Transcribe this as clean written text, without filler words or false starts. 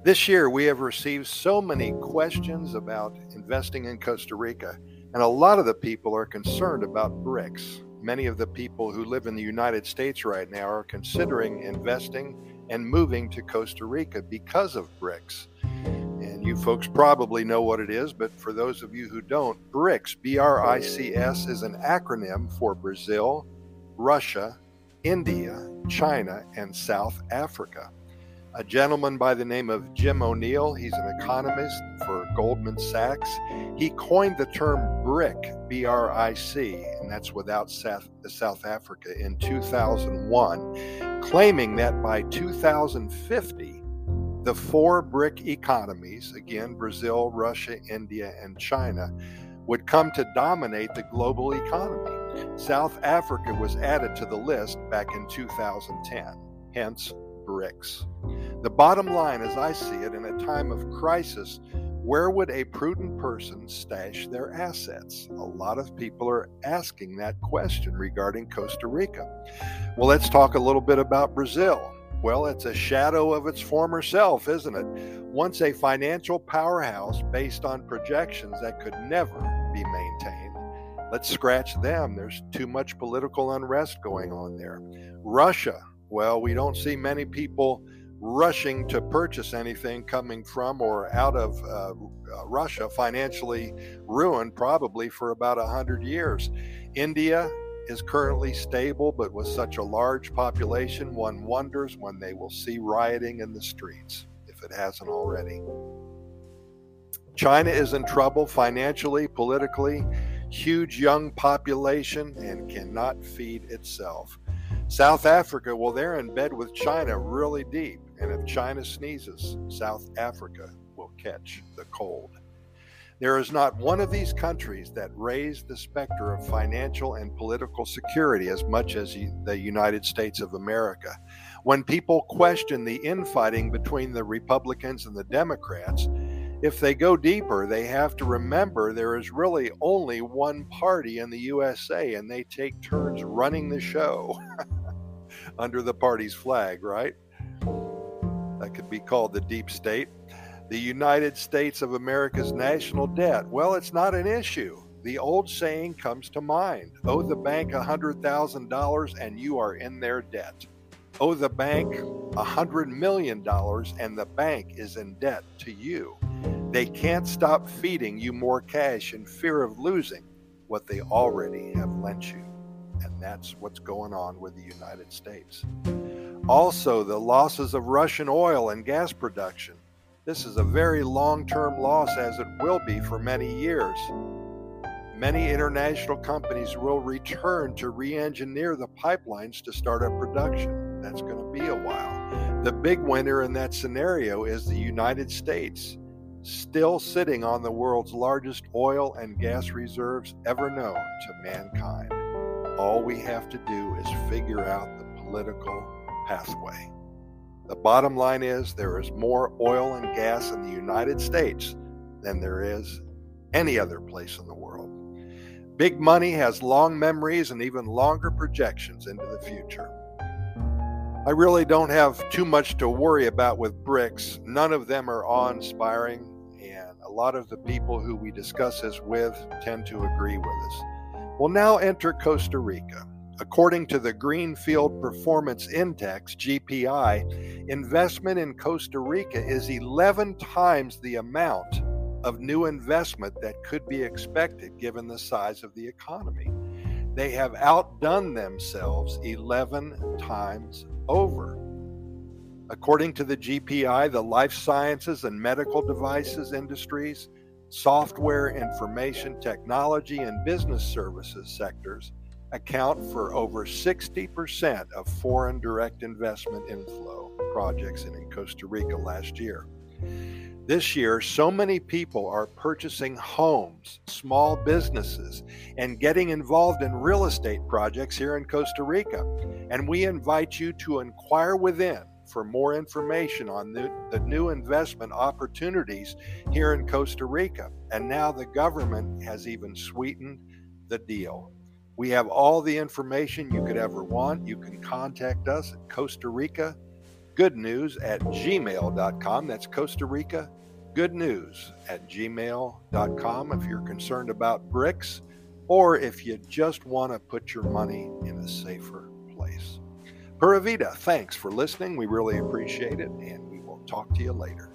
This year, we have received so many questions about investing in Costa Rica, and a lot of the people are concerned about BRICS. Many of the people who live in the United States right now are considering investing and moving to Costa Rica because of BRICS. And you folks probably know what it is, but for those of you who don't, BRICS, B-R-I-C-S, is an acronym for Brazil, Russia, India, China, and South Africa. A gentleman by the name of Jim O'Neill, he's an economist for Goldman Sachs. He coined the term BRIC, B-R-I-C, and that's without South Africa, in 2001, claiming that by 2050, the four BRIC economies, again, Brazil, Russia, India, and China, would come to dominate the global economy. South Africa was added to the list back in 2010, hence BRICS. The bottom line, as I see it, in a time of crisis, where would a prudent person stash their assets? A lot of people are asking that question regarding Costa Rica. Well, let's talk a little bit about Brazil. Well, it's a shadow of its former self, isn't it? Once a financial powerhouse based on projections that could never be maintained. Let's scratch them. There's too much political unrest going on there. Russia. Well, we don't see many people rushing to purchase anything coming from or out of Russia, financially ruined probably for about 100 years. India is currently stable, but with such a large population, one wonders when they will see rioting in the streets, if it hasn't already. China is in trouble financially, politically, huge young population, and cannot feed itself. South Africa, well, they're in bed with China really deep, and if China sneezes, South Africa will catch the cold. There is not one of these countries that raised the specter of financial and political security as much as the United States of America. When people question the infighting between the Republicans and the Democrats, if they go deeper, they have to remember there is really only one party in the USA, and they take turns running the show under the party's flag, right? That could be called the deep state. The United States of America's national debt, well, it's not an issue. The old saying comes to mind: owe the bank $100,000 and you are in their debt. Owe the bank $100 million and the bank is in debt to you. They can't stop feeding you more cash in fear of losing what they already have lent you. And that's what's going on with the United States. Also, the losses of Russian oil and gas production. This is a very long-term loss, as it will be for many years. Many international companies will return to re-engineer the pipelines to start up production. That's going to be a while. The big winner in that scenario is the United States, still sitting on the world's largest oil and gas reserves ever known to mankind. All we have to do is figure out the political pathway. The bottom line is there is more oil and gas in the United States than there is any other place in the world. Big money has long memories and even longer projections into the future. I really don't have too much to worry about with BRICS. None of them are awe-inspiring, and a lot of the people who we discuss this with tend to agree with us. Well, now enter Costa Rica. According to the Greenfield Performance Index, GPI, investment in Costa Rica is 11 times the amount of new investment that could be expected given the size of the economy. They have outdone themselves 11 times over. According to the GPI, the life sciences and medical devices industries, software, information technology, and business services sectors account for over 60% of foreign direct investment inflow projects in Costa Rica last year. This year, so many people are purchasing homes, small businesses, and getting involved in real estate projects here in Costa Rica. And we invite you to inquire within for more information on the new investment opportunities here in Costa Rica. And now the government has even sweetened the deal. We have all the information you could ever want. You can contact us at Costa Rica goodnews@gmail.com. That's Costa Rica goodnews@gmail.com if you're concerned about BRICS or if you just want to put your money in a safer place. Pura Vida, thanks for listening. We really appreciate it, and we will talk to you later.